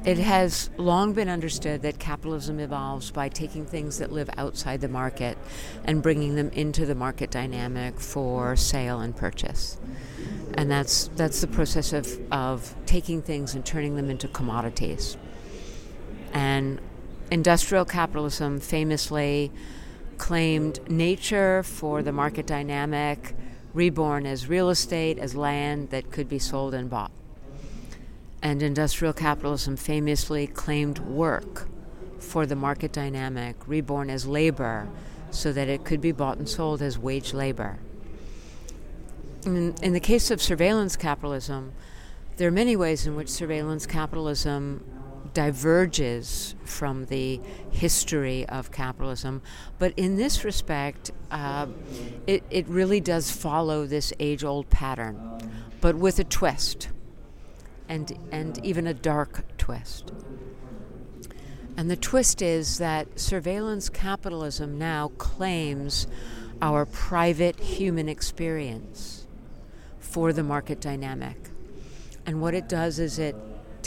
It has long been understood that capitalism evolves by taking things that live outside the market and bringing them into the market dynamic for sale and purchase. And that's the process of taking things and turning them into commodities. And industrial capitalism famously claimed nature for the market dynamic, reborn as real estate, as land that could be sold and bought. And industrial capitalism famously claimed work for the market dynamic, reborn as labor, so that it could be bought and sold as wage labor. In the case of surveillance capitalism, there are many ways in which surveillance capitalism diverges from the history of capitalism, but in this respect, it really does follow this age-old pattern, but with a twist. And even a dark twist. And the twist is that surveillance capitalism now claims our private human experience for the market dynamic. And what it does is it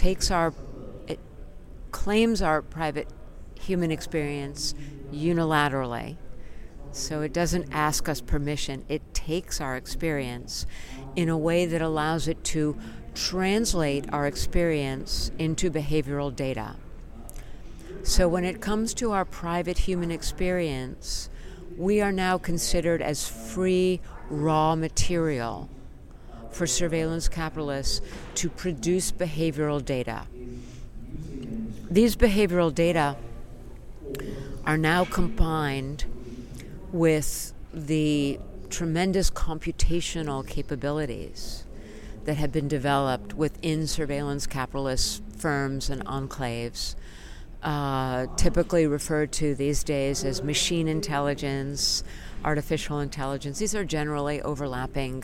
claims our private human experience unilaterally. So it doesn't ask us permission. It takes our experience in a way that allows it to translate our experience into behavioral data. So when it comes to our private human experience, we are now considered as free raw material for surveillance capitalists to produce behavioral data. These behavioral data are now combined with the tremendous computational capabilities that have been developed within surveillance capitalist firms and enclaves, typically referred to these days as machine intelligence, artificial intelligence. These are generally overlapping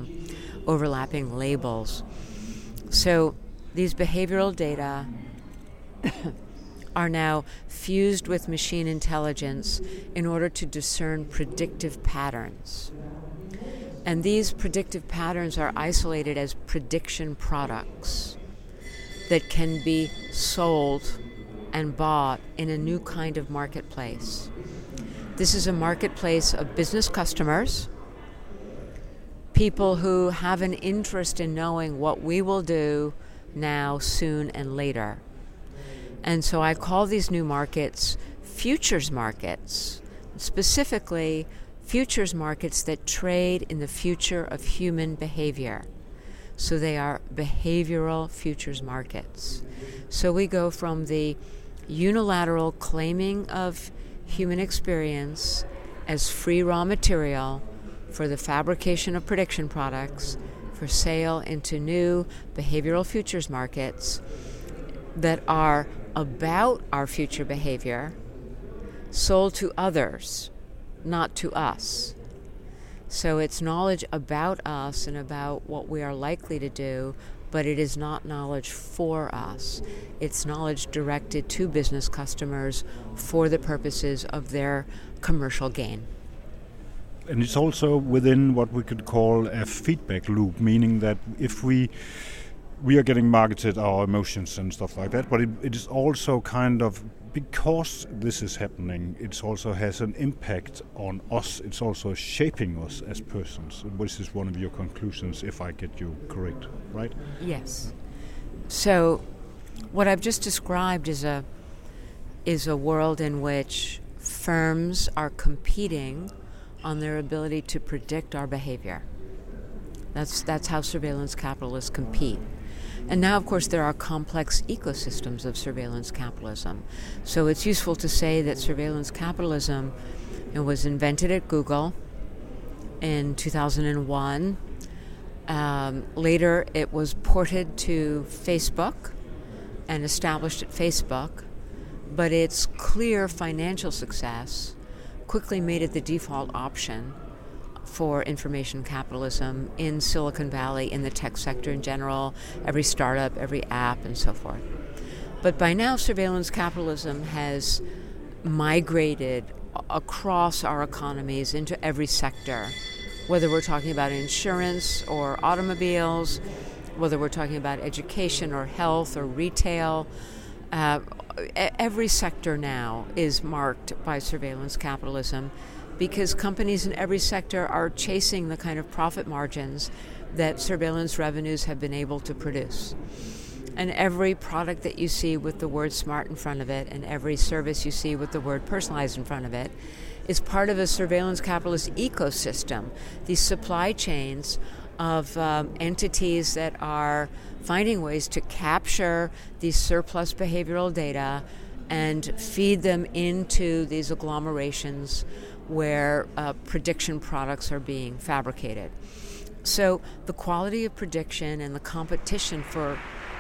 labels. So these behavioral data are now fused with machine intelligence in order to discern predictive patterns. And these predictive patterns are isolated as prediction products that can be sold and bought in a new kind of marketplace. This is a marketplace of business customers, people who have an interest in knowing what we will do now, soon, and later. And so I call these new markets futures markets, specifically futures markets that trade in the future of human behavior. So they are behavioral futures markets. So we go from the unilateral claiming of human experience as free raw material for the fabrication of prediction products for sale into new behavioral futures markets that are about our future behavior, sold to others, not to us. So it's knowledge about us and about what we are likely to do, but it is not knowledge for us. It's knowledge directed to business customers for the purposes of their commercial gain. And it's also within what we could call a feedback loop, meaning that if we are getting marketed our emotions and stuff like that, but it is also kind of, because this is happening, it also has an impact on us. It's also shaping us as persons, which is one of your conclusions, if I get you correct, right? Yes. So what I've just described is a world in which firms are competing on their ability to predict our behavior. That's how surveillance capitalists compete. And now, of course, there are complex ecosystems of surveillance capitalism. So it's useful to say that surveillance capitalism was invented at Google in 2001. Later, it was ported to Facebook and established at Facebook. But its clear financial success quickly made it the default option for information capitalism in Silicon Valley, in the tech sector in general, every startup, every app, and so forth. But by now, surveillance capitalism has migrated across our economies into every sector, whether we're talking about insurance or automobiles, whether we're talking about education or health or retail, Every sector now is marked by surveillance capitalism because companies in every sector are chasing the kind of profit margins that surveillance revenues have been able to produce. And every product that you see with the word smart in front of it, and every service you see with the word personalized in front of it, is part of a surveillance capitalist ecosystem. These supply chains of entities that are finding ways to capture these surplus behavioral data and feed them into these agglomerations where prediction products are being fabricated. So the quality of prediction and the competition for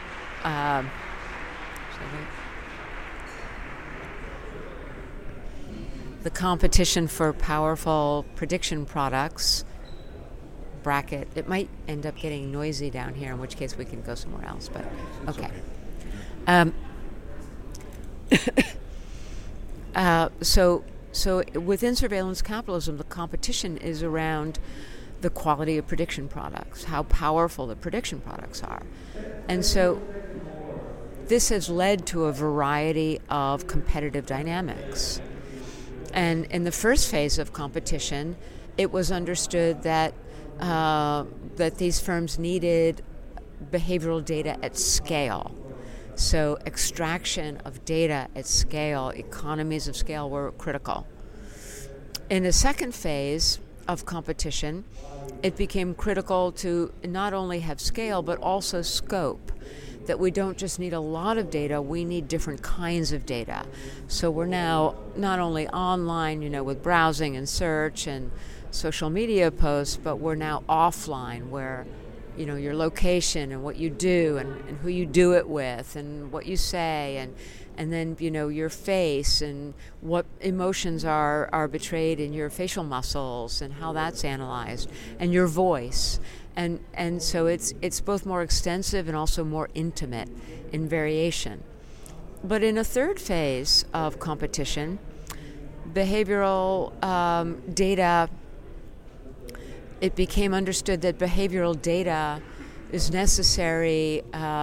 powerful prediction products, bracket, it might end up getting noisy down here, in which case we can go somewhere else, but okay. So within surveillance capitalism, the competition is around the quality of prediction products, how powerful the prediction products are. And so this has led to a variety of competitive dynamics. And in the first phase of competition, it was understood that these firms needed behavioral data at scale. So extraction of data at scale, economies of scale were critical. In the second phase of competition, it became critical to not only have scale, but also scope. That we don't just need a lot of data, we need different kinds of data. So we're now not only online, with browsing and search and social media posts, but we're now offline where, your location and what you do and who you do it with and what you say and then, your face and what emotions are betrayed in your facial muscles and how that's analyzed and your voice. And so it's both more extensive and also more intimate in variation. But in a third phase of competition, behavioral data, it became understood that behavioral data is necessary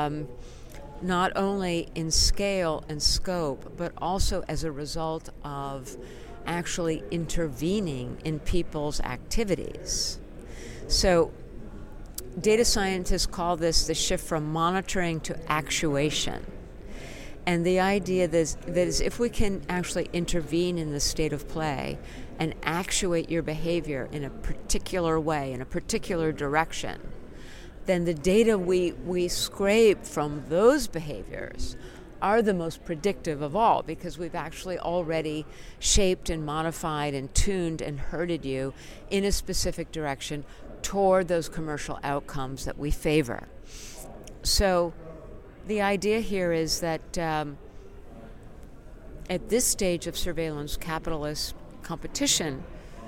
not only in scale and scope, but also as a result of actually intervening in people's activities. So data scientists call this the shift from monitoring to actuation. And the idea that is if we can actually intervene in the state of play and actuate your behavior in a particular way, in a particular direction, then the data we scrape from those behaviors are the most predictive of all, because we've actually already shaped and modified and tuned and herded you in a specific direction toward those commercial outcomes that we favor. So the idea here is that at this stage of surveillance capitalist competition,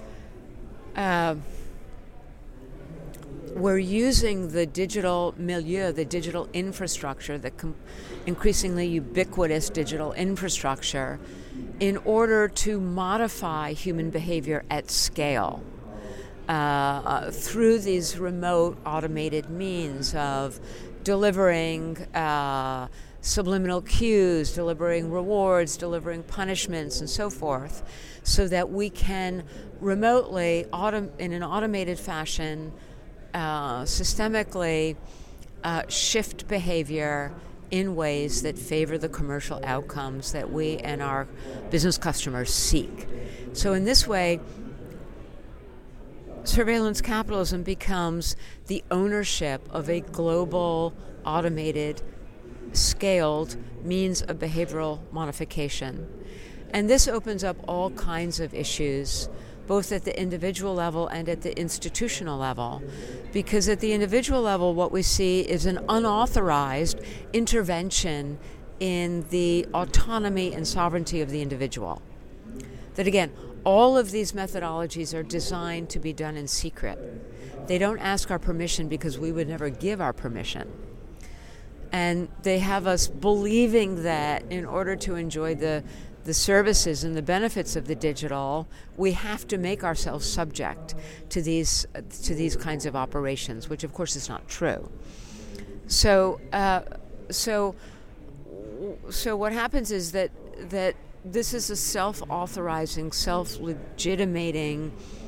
we're using the digital milieu, the digital infrastructure, the increasingly ubiquitous digital infrastructure, in order to modify human behavior at scale through these remote automated means of delivering subliminal cues, delivering rewards, delivering punishments, and so forth, so that we can remotely, in an automated fashion, systemically shift behavior in ways that favor the commercial outcomes that we and our business customers seek. So in this way, surveillance capitalism becomes the ownership of a global, automated, scaled means of behavioral modification. And this opens up all kinds of issues, both at the individual level and at the institutional level. Because at the individual level, what we see is an unauthorized intervention in the autonomy and sovereignty of the individual. That again, all of these methodologies are designed to be done in secret. They don't ask our permission because we would never give our permission. And they have us believing that in order to enjoy the services and the benefits of the digital, we have to make ourselves subject to these kinds of operations, which of course is not true. So so what happens is that this is a self-authorizing, self-legitimating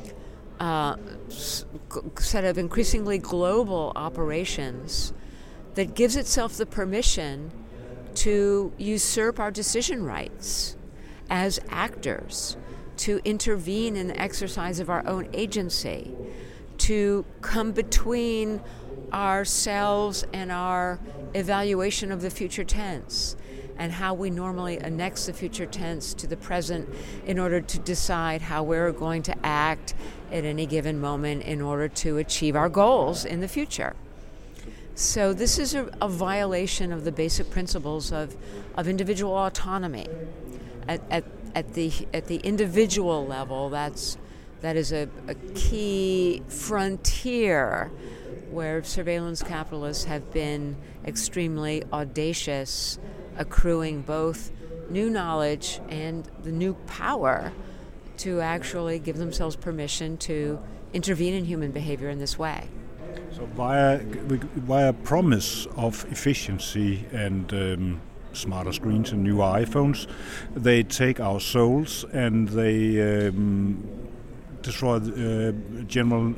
set of increasingly global operations that gives itself the permission to usurp our decision rights as actors, to intervene in the exercise of our own agency, to come between ourselves and our evaluation of the future tense and how we normally annex the future tense to the present in order to decide how we're going to act at any given moment in order to achieve our goals in the future. So this is a violation of the basic principles of individual autonomy. At the individual level, that is a key frontier where surveillance capitalists have been extremely audacious, accruing both new knowledge and the new power to actually give themselves permission to intervene in human behavior in this way. So via promise of efficiency and smarter screens and new iPhones, they take our souls and they destroy our general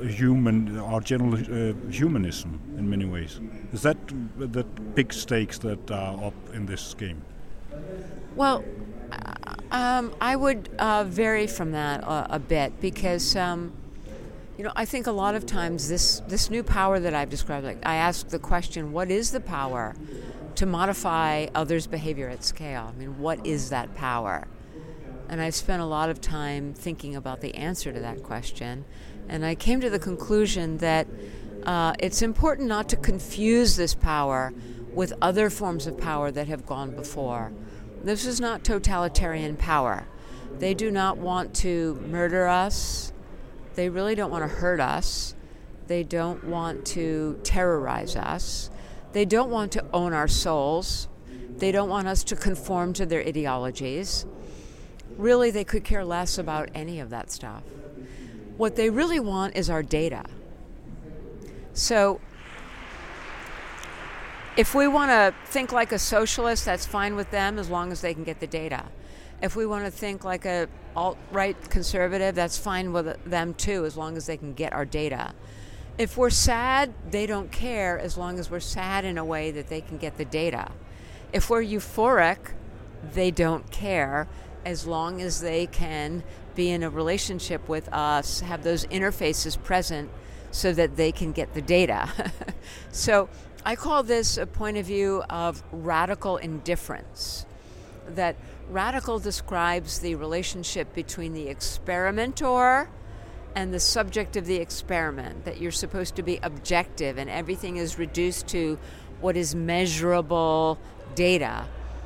humanism in many ways. Is that the big stakes that are up in this game? Well, I would vary from that a bit because I think a lot of times this new power that I've described, like I ask the question, what is the power to modify others' behavior at scale? I mean, what is that power? And I've spent a lot of time thinking about the answer to that question, and I came to the conclusion that it's important not to confuse this power with other forms of power that have gone before. This is not totalitarian power. They do not want to murder us. They really don't want to hurt us. They don't want to terrorize us. They don't want to own our souls. They don't want us to conform to their ideologies. Really, they could care less about any of that stuff. What they really want is our data. So if we want to think like a socialist, that's fine with them as long as they can get the data. If we want to think like a alt-right conservative, that's fine with them too, as long as they can get our data. If we're sad, they don't care as long as we're sad in a way that they can get the data. If we're euphoric, they don't care as long as they can be in a relationship with us, have those interfaces present so that they can get the data. So I call this a point of view of radical indifference. That radical describes the relationship between the experimenter and the subject of the experiment, that you're supposed to be objective and everything is reduced to what is measurable data.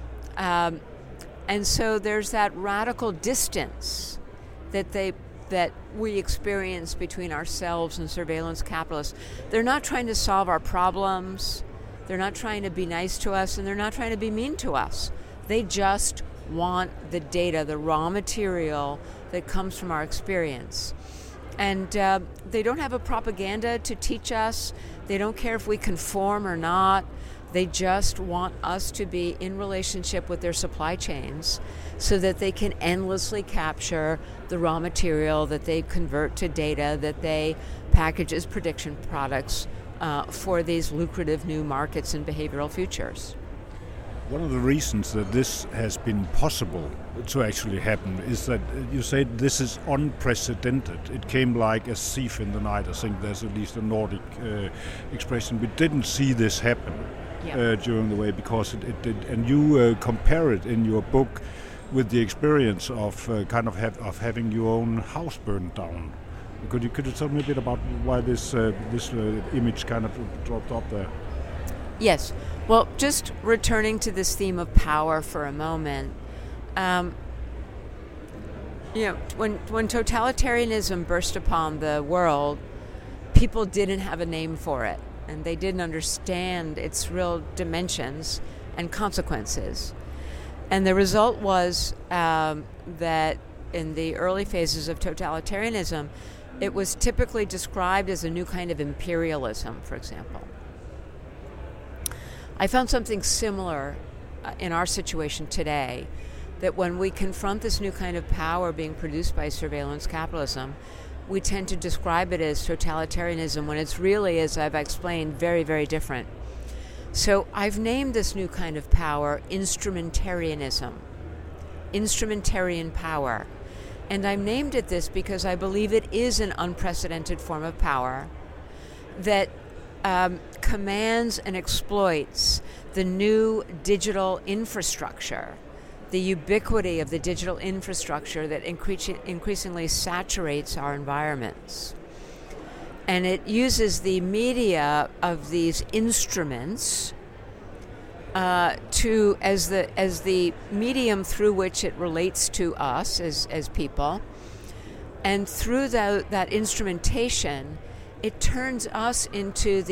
And so there's that radical distance that we experience between ourselves and surveillance capitalists. They're not trying to solve our problems, they're not trying to be nice to us, and they're not trying to be mean to us. They just want the data, the raw material that comes from our experience. And they don't have a propaganda to teach us. They don't care if we conform or not. They just want us to be in relationship with their supply chains so that they can endlessly capture the raw material that they convert to data, that they package as prediction products for these lucrative new markets and behavioral futures. One of the reasons that this has been possible to actually happen is that you say this is unprecedented. It came like a thief in the night. I think there's at least a Nordic expression. We didn't see this happen during the way because it did. And you compare it in your book with the experience of of having your own house burned down. Could you tell me a bit about why this image kind of dropped up there? Yes. Well, just returning to this theme of power for a moment, when totalitarianism burst upon the world, people didn't have a name for it, and they didn't understand its real dimensions and consequences. And the result was that in the early phases of totalitarianism, it was typically described as a new kind of imperialism, for example. I found something similar in our situation today, that when we confront this new kind of power being produced by surveillance capitalism, we tend to describe it as totalitarianism when it's really, as I've explained, very, very different. So I've named this new kind of power instrumentarianism, instrumentarian power. And I've named it this because I believe it is an unprecedented form of power that commands and exploits the new digital infrastructure, the ubiquity of the digital infrastructure that increasingly saturates our environments. And it uses the media of these instruments as the medium through which it relates to us as people. And through that instrumentation, it turns us into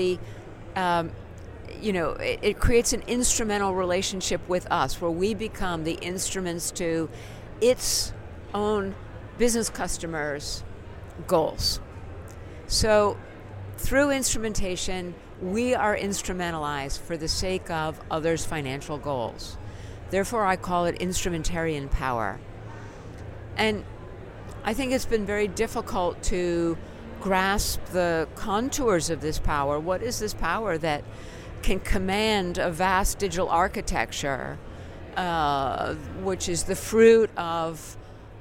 it creates an instrumental relationship with us, where we become the instruments to its own business customers' goals. So through instrumentation, we are instrumentalized for the sake of others' financial goals. Therefore, I call it instrumentarian power. And I think it's been very difficult to grasp the contours of this power. What is this power that can command a vast digital architecture, which is the fruit of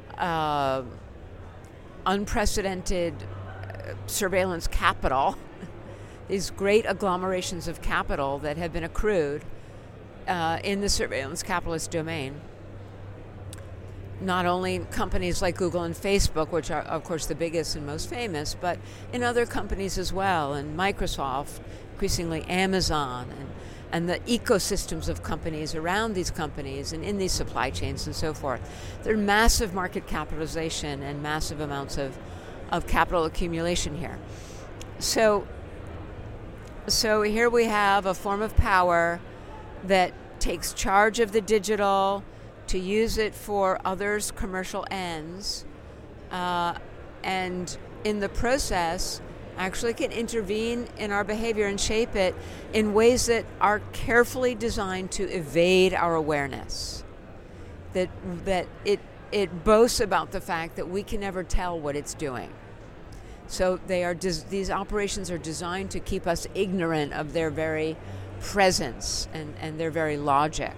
unprecedented surveillance capital, these great agglomerations of capital that have been accrued in the surveillance capitalist domain? Not only companies like Google and Facebook, which are, of course, the biggest and most famous, but in other companies as well, and Microsoft, increasingly Amazon, and the ecosystems of companies around these companies and in these supply chains and so forth. There's massive market capitalization and massive amounts of capital accumulation here. So here we have a form of power that takes charge of the digital to use it for others' commercial ends, and in the process actually can intervene in our behavior and shape it in ways that are carefully designed to evade our awareness. That it boasts about the fact that we can never tell what it's doing. So these operations are designed to keep us ignorant of their very presence and their very logic.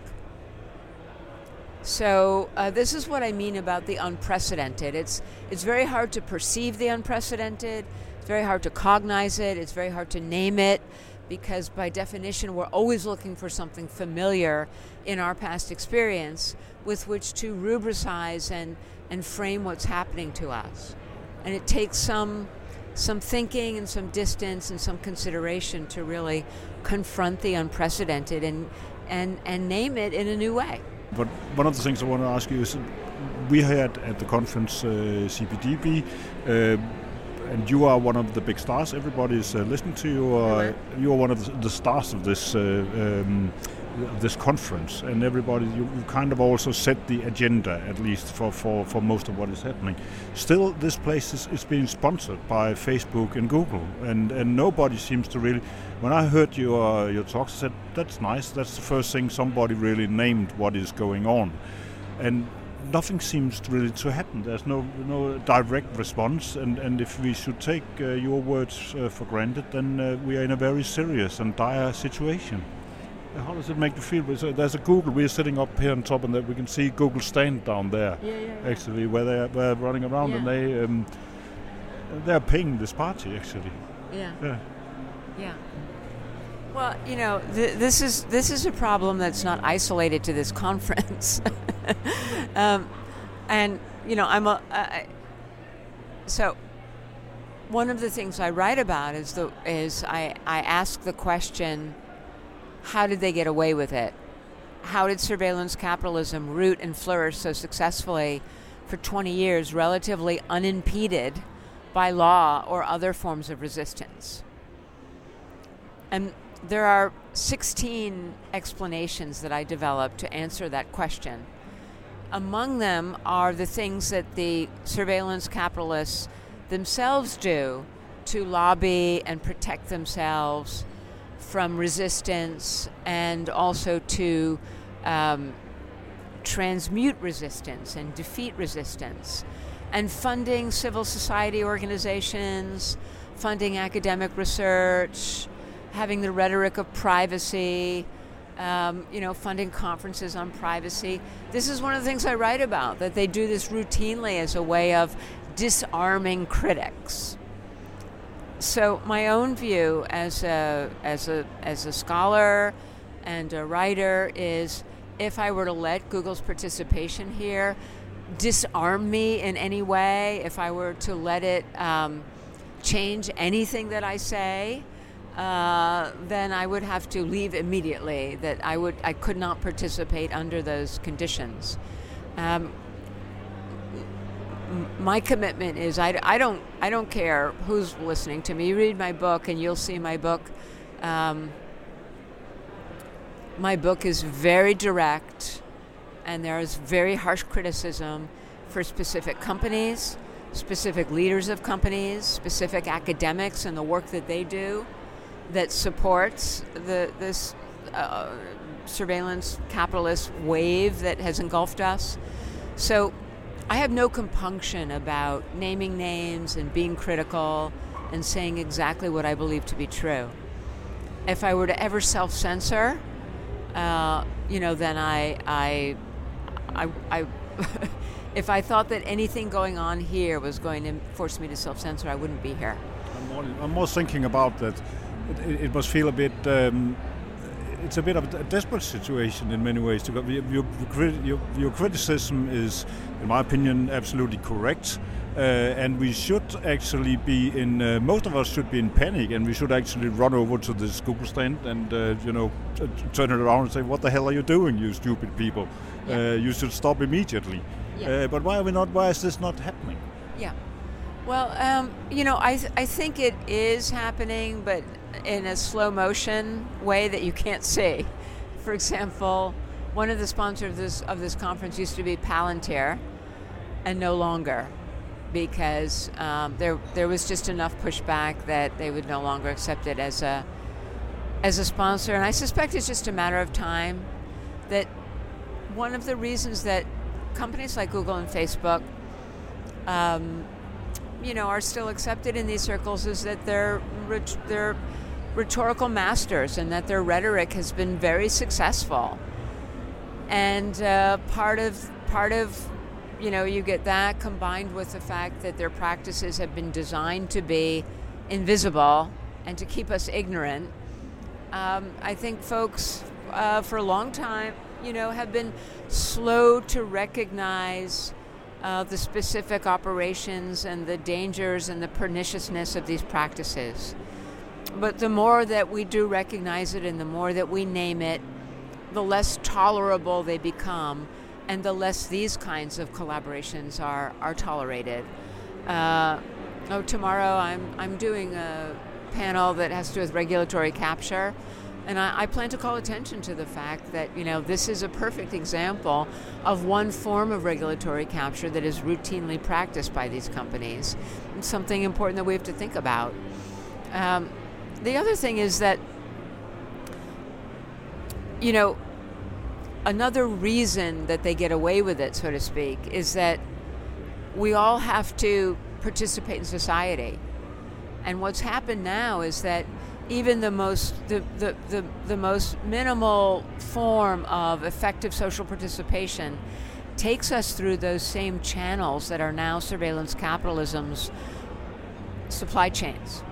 So this is what I mean about the unprecedented. It's very hard to perceive the unprecedented. It's very hard to cognize it. It's very hard to name it, because by definition we're always looking for something familiar in our past experience with which to rubricize and frame what's happening to us. And it takes some thinking and some distance and some consideration to really confront the unprecedented and name it in a new way. But one of the things I want to ask you is, we had at the conference CPDB, and you are one of the big stars. Everybody is listening to you. You are one of the stars of this conference, and everybody, you kind of also set the agenda, at least for most of what is happening. Still, this place is being sponsored by Facebook and Google, and nobody seems to really. When I heard your talks, I said, that's nice. That's the first thing somebody really named what is going on, and nothing seems really to happen. There's no direct response, and if we should take your words for granted, then we are in a very serious and dire situation. How does it make you feel? There's a Google. We're sitting up here on top, and we can see Google stand down there. Yeah. Actually, where they're running around, and they're paying this party actually. Yeah. Well, this is a problem that's not isolated to this conference, and so one of the things I write about is I ask the question, how did they get away with it? How did surveillance capitalism root and flourish so successfully for 20 years, relatively unimpeded by law or other forms of resistance? And there are 16 explanations that I developed to answer that question. Among them are the things that the surveillance capitalists themselves do to lobby and protect themselves from resistance, and also to transmute resistance and defeat resistance, and funding civil society organizations, funding academic research, having the rhetoric of privacy, funding conferences on privacy. This is one of the things I write about, that they do this routinely as a way of disarming critics. So my own view as a scholar and a writer is, if I were to let Google's participation here disarm me in any way, if I were to let it change anything that I say, then I would have to leave immediately. That I could not participate under those conditions. My commitment is I don't care who's listening to me. You read my book and you'll see my book. My book is very direct, and there is very harsh criticism for specific companies, specific leaders of companies, specific academics and the work that they do that supports this surveillance capitalist wave that has engulfed us. So I have no compunction about naming names and being critical and saying exactly what I believe to be true. If I were to ever self-censor, then I if I thought that anything going on here was going to force me to self-censor, I wouldn't be here. I'm more thinking about that. It must feel a bit. It's a bit of a desperate situation in many ways. Your criticism is, in my opinion, absolutely correct, and we should actually be in. Most of us should be in panic, and we should actually run over to this Google stand and turn it around and say, "What the hell are you doing, you stupid people? Yeah. You should stop immediately." Yeah. But why are we not? Why is this not happening? Yeah. Well, I think it is happening, but in a slow motion way that you can't see. For example, one of the sponsors of this conference used to be Palantir, and no longer, because there was just enough pushback that they would no longer accept it as a sponsor. And I suspect it's just a matter of time. That one of the reasons that companies like Google and Facebook are still accepted in these circles is that they're rhetorical masters, and that their rhetoric has been very successful. And part of you get that combined with the fact that their practices have been designed to be invisible and to keep us ignorant. I think folks for a long time, have been slow to recognize the specific operations and the dangers and the perniciousness of these practices. But the more that we do recognize it and the more that we name it, the less tolerable they become, and the less these kinds of collaborations are tolerated. Tomorrow I'm doing a panel that has to do with regulatory capture, and I plan to call attention to the fact that this is a perfect example of one form of regulatory capture that is routinely practiced by these companies. It's something important that we have to think about. The other thing is that another reason that they get away with it, so to speak, is that we all have to participate in society. And what's happened now is that even the most minimal form of effective social participation takes us through those same channels that are now surveillance capitalism's supply chains.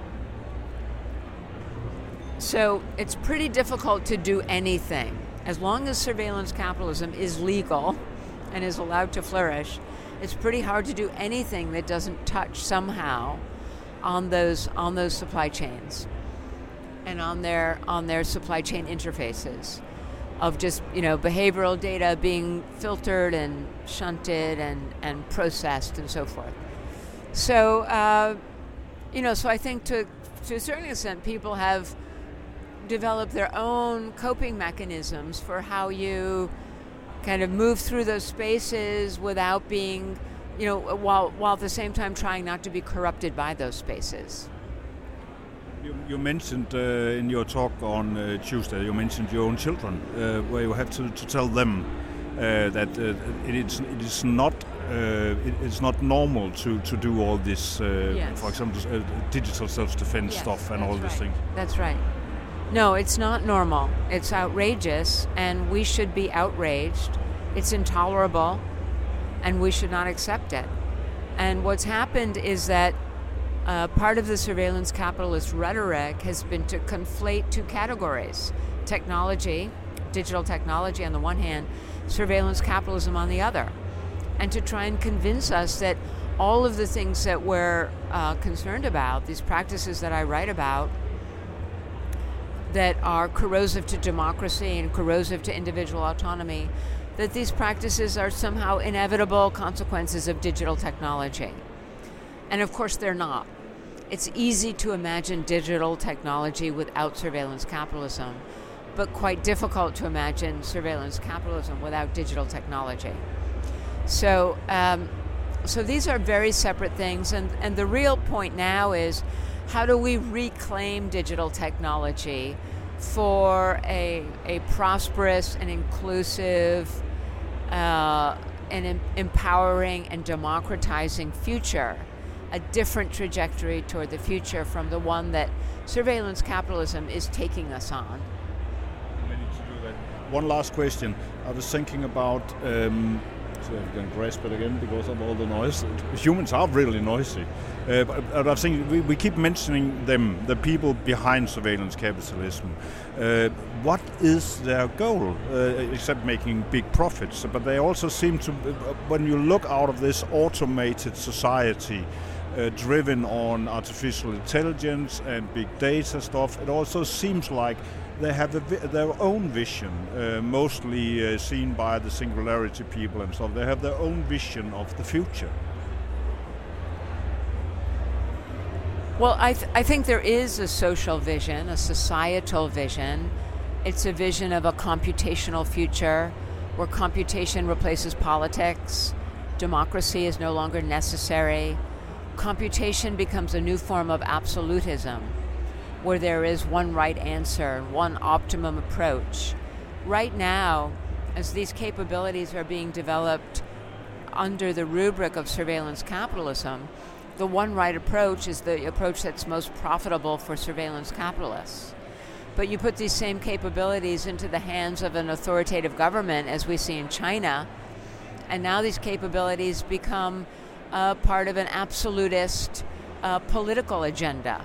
So it's pretty difficult to do anything. As long as surveillance capitalism is legal and is allowed to flourish, it's pretty hard to do anything that doesn't touch somehow on those supply chains and on their supply chain interfaces of just behavioral data being filtered and shunted and processed and so forth. So so I think to a certain extent people have developed their own coping mechanisms for how you kind of move through those spaces without being, while at the same time trying not to be corrupted by those spaces. You mentioned in your talk on Tuesday, you mentioned your own children, where you have to tell them that it's not normal to do all this, Yes. for example, digital self-defense stuff and all these things. That's right. No, it's not normal. It's outrageous, and we should be outraged. It's intolerable, and we should not accept it. And what's happened is that part of the surveillance capitalist rhetoric has been to conflate two categories: technology, digital technology on the one hand, surveillance capitalism on the other, and to try and convince us that all of the things that we're concerned about, these practices that I write about, that are corrosive to democracy and corrosive to individual autonomy, that these practices are somehow inevitable consequences of digital technology. And of course they're not. It's easy to imagine digital technology without surveillance capitalism, but quite difficult to imagine surveillance capitalism without digital technology. So these are very separate things, and the real point now is, how do we reclaim digital technology for a prosperous and inclusive and empowering and democratizing future, a different trajectory toward the future from the one that surveillance capitalism is taking us on? We need to do that. One last question. I was thinking about, so I can grasp it again because of all the noise. Humans are really noisy. But I think we keep mentioning them, the people behind surveillance capitalism. What is their goal, except making big profits? But they also seem to, when you look out of this automated society, driven on artificial intelligence and big data stuff, it also seems like they have their own vision, mostly seen by the singularity people and stuff. They have their own vision of the future. Well, I think there is a social vision, a societal vision. It's a vision of a computational future where computation replaces politics, democracy is no longer necessary, computation becomes a new form of absolutism, where there is one right answer, one optimum approach. Right now, as these capabilities are being developed under the rubric of surveillance capitalism, the one right approach is the approach that's most profitable for surveillance capitalists. But you put these same capabilities into the hands of an authoritative government, as we see in China, and now these capabilities become part of an absolutist political agenda.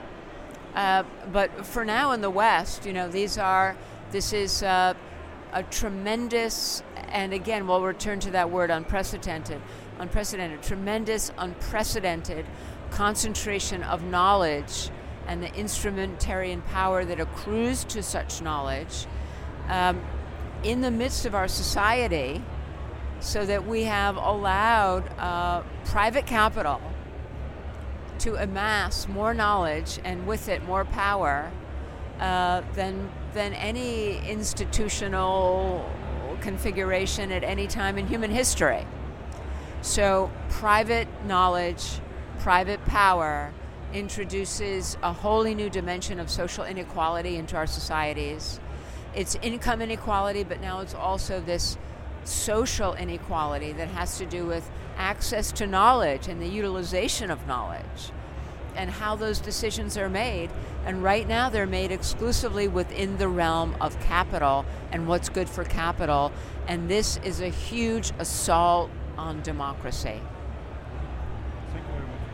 But for now in the West, this is a tremendous, and again, we'll return to that word unprecedented, tremendous, unprecedented concentration of knowledge and the instrumentarian power that accrues to such knowledge in the midst of our society, so that we have allowed private capital to amass more knowledge and with it more power than any institutional configuration at any time in human history. So private knowledge, private power introduces a wholly new dimension of social inequality into our societies. It's income inequality, but now it's also this social inequality that has to do with access to knowledge and the utilization of knowledge and how those decisions are made. And right now they're made exclusively within the realm of capital and what's good for capital. And this is a huge assault on democracy. Thank you very much.